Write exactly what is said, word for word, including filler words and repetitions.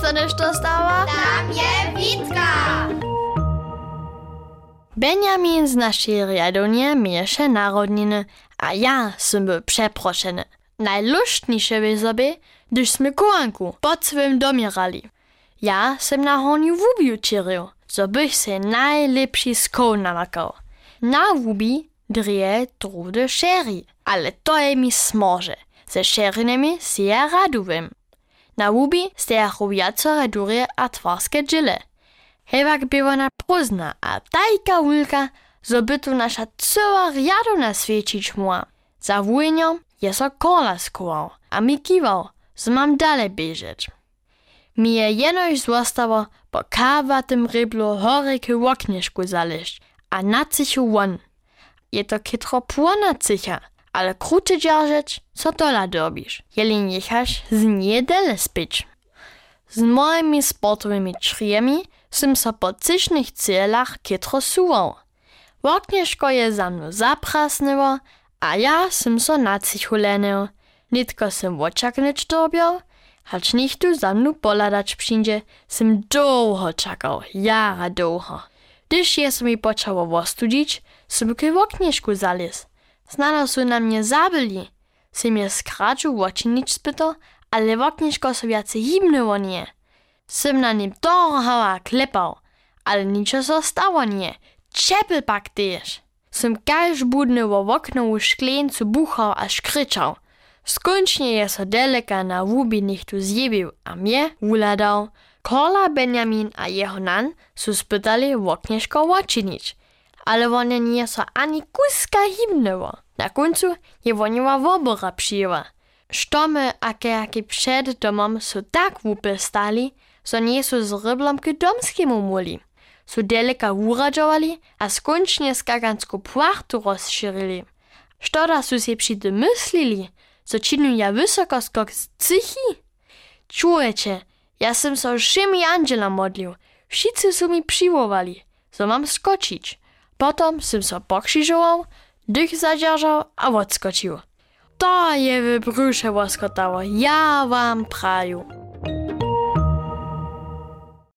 sa nešto stała? Tam je Witka! Benjamin z naszej riadonie mieše narodniny, a ja sam był przeproszony. Najluštniejsze by sobie, gdyż sme kołanku pod swym domierali. Ja sam na horniu wubiu čiril, so bych se najlepší skół namakał. Na wubi drije trude šeri, ale to je mi smože. Ze šerinami si ja raduvim. Na wubi stejachu viacore durje a twarske džile. Hewak była próżna, a tajka wulka, zo by tu nasza cała riadona świecić muła. Za wujnią je so kola skował, a mi kiwał, zo mam dalej bieżeć. Mi je jenoś zostało po kawatym ryblu horyky w oknieszku zaleźć, a na cychu won. Je to kitro płona cycha, ale krucze dzierżeć, co dola dobisz, jeli niechasz z niedele spić. Z moimi sportowymi črijemi sem so po cyšnych celach kitro suwał. Oknieszko je za mną zaprasnyło, a ja sem so na cichu lenył. Nitko sem oczaknyć dobiał, hacz niech tu za mną poladać przyjdzie, sem długo czakał, jara długo. Gdyż je so mi počało wostudzić, sem k oknieszku zalez. Znano su na mnie zabili. Sem je skradził oczynić spytał, ale oknieszko so viacej hibnyło nie. Sem na nim torhał a klepał, ale niczo so stało nie. Czepel pak też. Sem kaž budny wo oknowu szkleńcu buchał a szkryczał. Skończnie je so deleka na wubi niech tu zjebił, a mnie uladał. Kola Benjamin a jeho nan su spytali oknieszko oczynić, ale one nie so ani kuska hibnyło. Na końcu je woniła wobora przyjęła. Štomy a kejaki przed domom su tak wupy stali, so nie su z ryblom k domskiemu muli. Su deleka uradžovali a skończnie skakansku płachtu rozširili. Štoda su si przy tym myslili, so činu ja wysoko skok z cychi? Čujecie, ja sem so všemi anđela modlił, wszyscy su mi přiwowali, so mam skočić. Potom sem so pokřižoval, dych zadržał a odskočił. To je w brzusze łoskotało, ja wam praju.